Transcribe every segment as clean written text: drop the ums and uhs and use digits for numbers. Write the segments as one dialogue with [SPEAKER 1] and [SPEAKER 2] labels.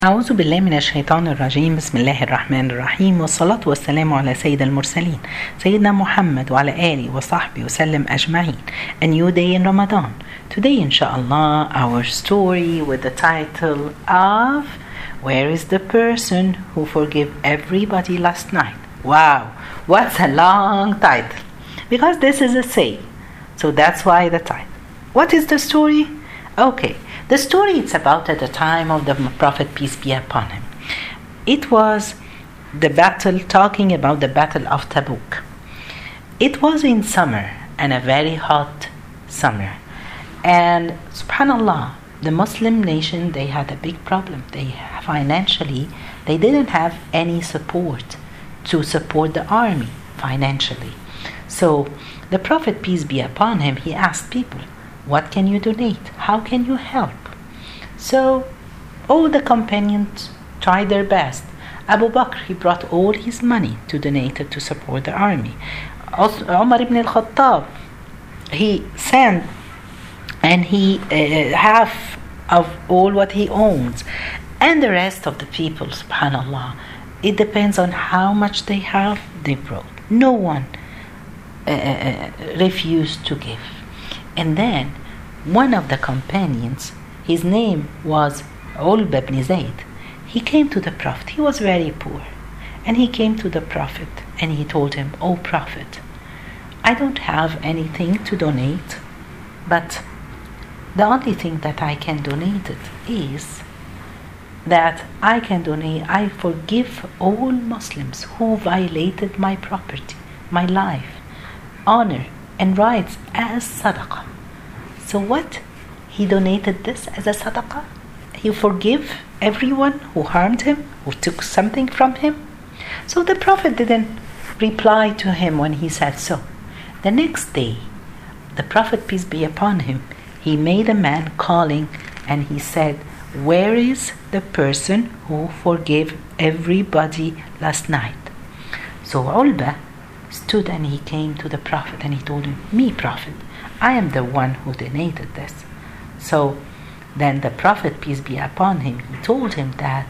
[SPEAKER 1] أعوذ بالله من الشيطان الرجيم. بسم الله الرحمن الرحيم، والصلاة والسلام على سيد المرسلين سيدنا محمد وعلى آله وصحبه وسلم أجمعين. A new day in Ramadan. Today inshallah our story with the title of Where is the person who forgave everybody last night? Wow, what's a long title, because this is a saying, so that's why the title. What is the story? Okay, the story is about at the time of the Prophet, peace be upon him. It was the battle, talking about the battle of Tabuk. It was in summer, and a very hot summer. And subhanallah, the Muslim nation, they had a big problem. Financially, they didn't have any support to support the army financially. So the Prophet, peace be upon him, he asked people, what can you donate? How can you help? So all the companions tried their best. Abu Bakr, he brought all his money to donate it to support the army. Umar ibn al-Khattab, he sent and he half of all what he owns. And the rest of the people, subhanallah, it depends on how much they have, they brought. No one refused to give. And then one of the companions, his name was Ulba ibn Zayd, he came to the Prophet. He was very poor, and he came to the Prophet and he told him, "Oh Prophet, I don't have anything to donate, but the only thing that I can donate it is that I forgive all Muslims who violated my property, my life, honor and rights as sadaqah." So what? He donated this as a sadaqah? He forgive everyone who harmed him, who took something from him? So the Prophet didn't reply to him when he said so. The next day, the Prophet, peace be upon him, he made a man calling and he said, "Where is the person who forgave everybody last night?" So Ulba stood and he came to the Prophet and he told him, "Me, Prophet, I am the one who donated this." So then the Prophet, peace be upon him, he told him that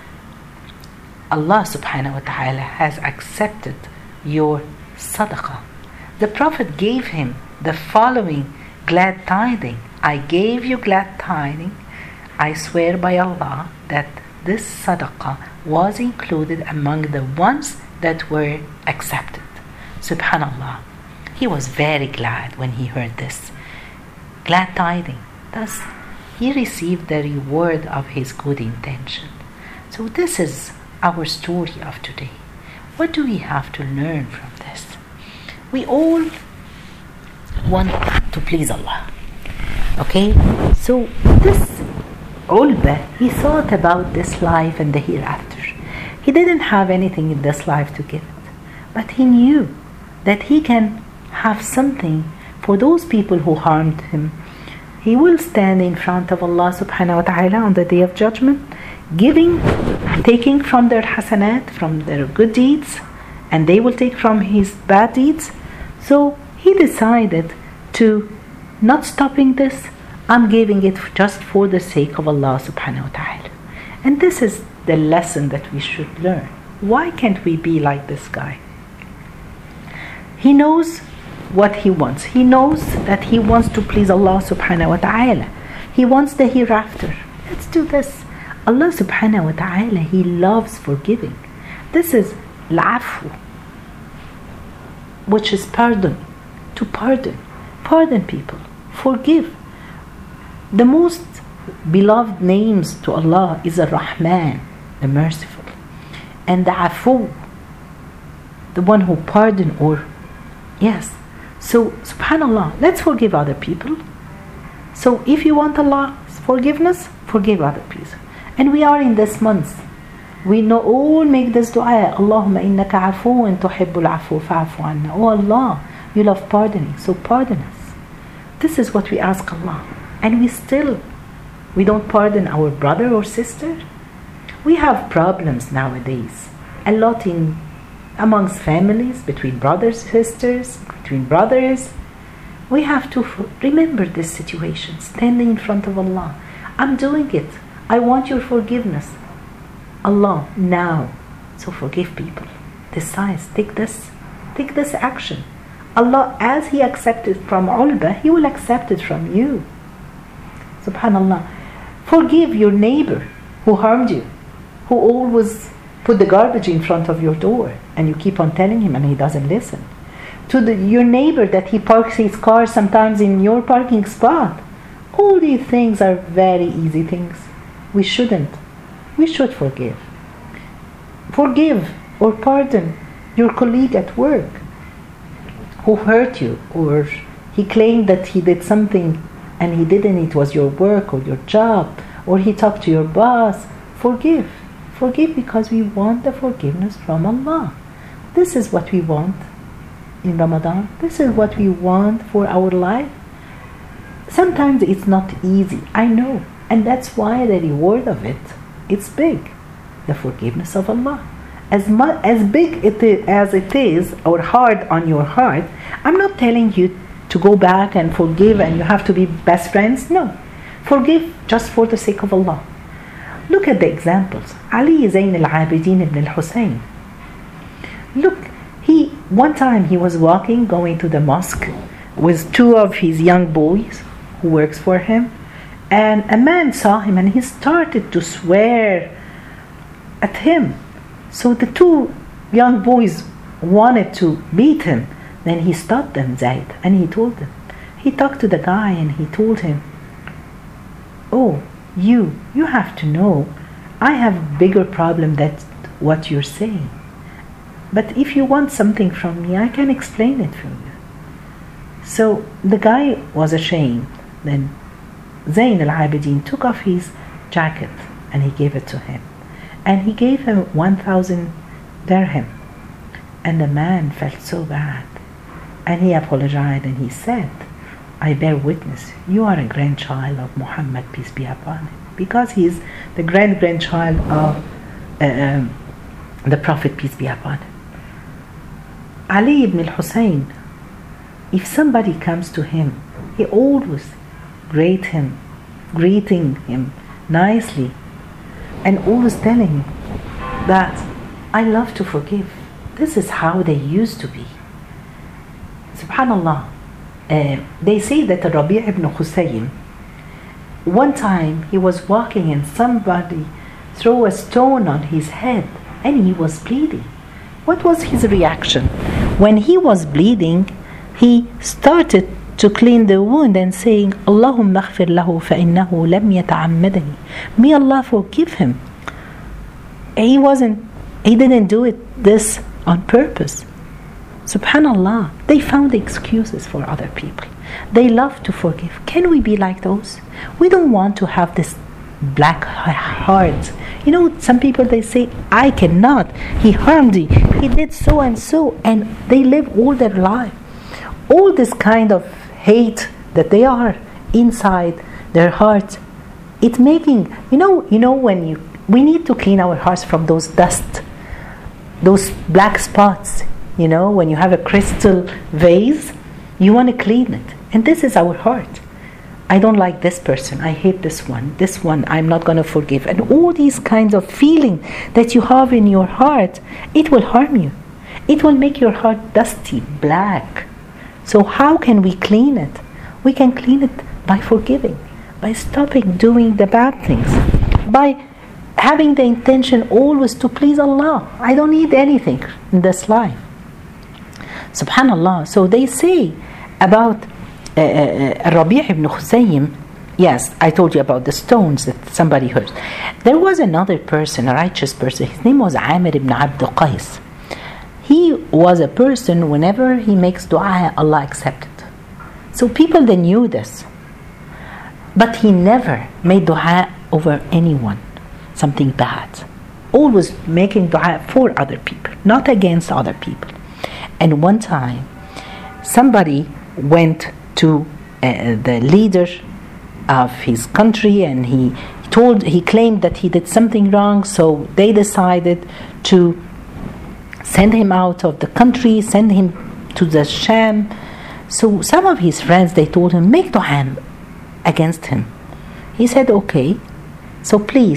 [SPEAKER 1] Allah subhanahu wa ta'ala has accepted your sadaqah. The Prophet gave him the following glad tiding: "I gave you glad tiding. I swear by Allah that this sadaqah was included among the ones that were accepted." Subhanallah. He was very glad when he heard this glad tiding. Thus, he received the reward of his good intention. So this is our story of today. What do we have to learn from this? We all want to please Allah. Okay? So this Ulba, he thought about this life and the hereafter. He didn't have anything in this life to give it, but he knew that he can have something for those people who harmed him. He will stand in front of Allah subhanahu wa ta'ala on the day of judgment, taking from their hasanat, from their good deeds, and they will take from his bad deeds. So he decided to not stopping this. I'm giving it just for the sake of Allah subhanahu wa ta'ala. And this is the lesson that we should learn. Why can't we be like this guy? He knows what he wants. He knows that he wants to please Allah subhanahu wa ta'ala. He wants the hereafter. Let's do this. Allah subhanahu wa ta'ala, he loves forgiving. This is al-afu, which is pardon. To pardon. Pardon people. Forgive. The most beloved names to Allah is Ar-Rahman, the merciful, and the Afu, the one who pardon, or yes. So subhanallah, let's forgive other people. So if you want Allah's forgiveness, forgive other people. And we are in this month. We know all make this dua, Allahumma innaka afuun tuhibbul afu fa'afu anna. Oh Allah, you love pardoning, so pardon us. This is what we ask Allah. And we don't pardon our brother or sister. We have problems nowadays. A lot amongst families, between brothers, sisters, between brothers. We have to remember this situation, standing in front of Allah. I'm doing it. I want your forgiveness. Allah now. So forgive people. Decide, take this action. Allah, as He accepted from Ulba, He will accept it from you. Subhanallah. Forgive your neighbor who harmed you, who always put the garbage in front of your door, and you keep on telling him and he doesn't listen. To your neighbor that he parks his car sometimes in your parking spot. All these things are very easy things. We should forgive. Forgive or pardon your colleague at work who hurt you, or he claimed that he did something and he didn't, it was your work or your job, or he talked to your boss. Forgive because we want the forgiveness from Allah. This is what we want in Ramadan. This is what we want for our life. Sometimes it's not easy, I know, and that's why the reward of it's big. The forgiveness of Allah. As big as it is, or hard on your heart, I'm not telling you to go back and forgive and you have to be best friends. No. Forgive just for the sake of Allah. Look at the examples. Ali Zayn al-Abidin ibn al-Hussein. Look, one time he was walking, going to the mosque with two of his young boys who works for him, and a man saw him and he started to swear at him. So the two young boys wanted to beat him. Then he stopped them, Zayd, and he told them. He talked to the guy and he told him, "Oh, you have to know, I have a bigger problem than what you're saying. But if you want something from me, I can explain it for you." So the guy was ashamed. Then Zayn al-Abidin took off his jacket and he gave it to him. And he gave him 1,000 dirham. And the man felt so bad. And he apologized and he said, "I bear witness, you are a grandchild of Muhammad, peace be upon him." Because he is the grandchild of the Prophet, peace be upon him. Ali ibn al-Hussein, if somebody comes to him, he always greeting him nicely, and always telling him that I love to forgive. This is how they used to be. Subhanallah. They say that Rabi' ibn Husayn, one time he was walking and somebody threw a stone on his head and he was bleeding. What was his reaction? When he was bleeding, he started to clean the wound and saying, "Allahumma aghfir lahu fa innahu lam yata'ammadani." May Allah forgive him. He didn't do this on purpose. Subhanallah, they found excuses for other people. They love to forgive. Can we be like those? We don't want to have this black heart. You know, some people, they say, "I cannot. He harmed me. He did so and so," and they live all their life. All this kind of hate that they are inside their hearts, it's making, when we need to clean our hearts from those dust, those black spots. When you have a crystal vase, you want to clean it. And this is our heart. I don't like this person. I hate this one I'm not going to forgive. And all these kinds of feeling that you have in your heart, it will harm you. It will make your heart dusty, black. So how can we clean it? We can clean it by forgiving, by stopping doing the bad things, by having the intention always to please Allah. I don't need anything in this life. Subhanallah. So they say about Rabi' ibn Husayn, yes, I told you about the stones that somebody heard. There was another person, a righteous person. His name was Amir ibn Abd Qais. He was a person, whenever he makes dua, Allah accepts it. So people, they knew this. But he never made dua over anyone, something bad. Always making dua for other people, not against other people. And one time, somebody went to the leader of his country and he claimed that he did something wrong, so they decided to send him out of the country, send him to the Sham. So some of his friends, they told him, make dua against him. He said, okay, so please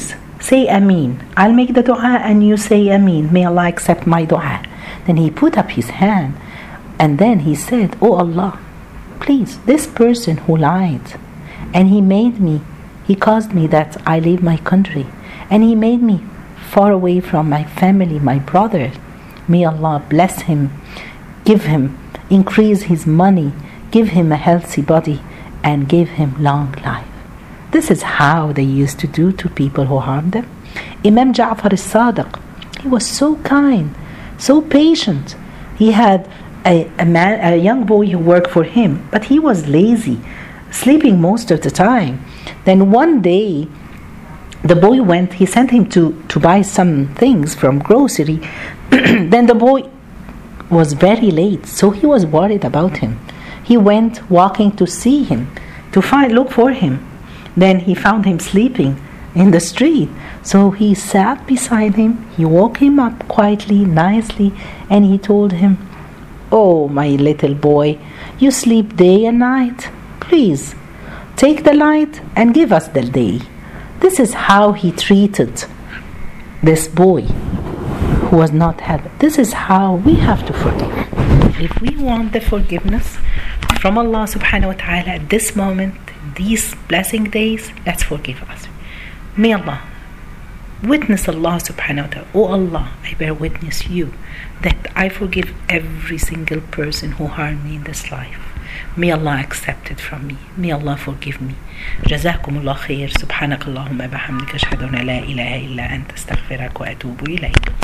[SPEAKER 1] say Ameen. I'll make the dua and you say Ameen. May Allah accept my dua. Then he put up his hand and then he said, Oh Allah, please, this person who lied and he caused me that I leave my country and he made me far away from my family, my brother. May Allah bless him, give him, increase his money, give him a healthy body and give him long life. This is how they used to do to people who harmed them. Imam Ja'far al-Sadiq, he was so kind, so patient. He had a young boy who worked for him, but he was lazy, sleeping most of the time. Then one day, the boy he sent him to buy some things from grocery. Then the boy was very late, so he was worried about him. He went walking to see him, look for him. Then he found him sleeping in the street. So he sat beside him, he woke him up quietly, nicely, and he told him, Oh, my little boy, you sleep day and night. Please, take the light and give us the day. This is how he treated this boy who was not happy. This is how we have to forgive. If we want the forgiveness from Allah subhanahu wa ta'ala at this moment, these blessing days, let's forgive us. May Allah witness Allah subhanahu wa ta'ala. Oh Allah, I bear witness you that I forgive every single person who harmed me in this life. May Allah accept it from me. May Allah forgive me. جزاكم الله خير. سبحانك اللهم وبحمدك أشهد أن لا إله إلا أنت أستغفرك وأتوب إليك.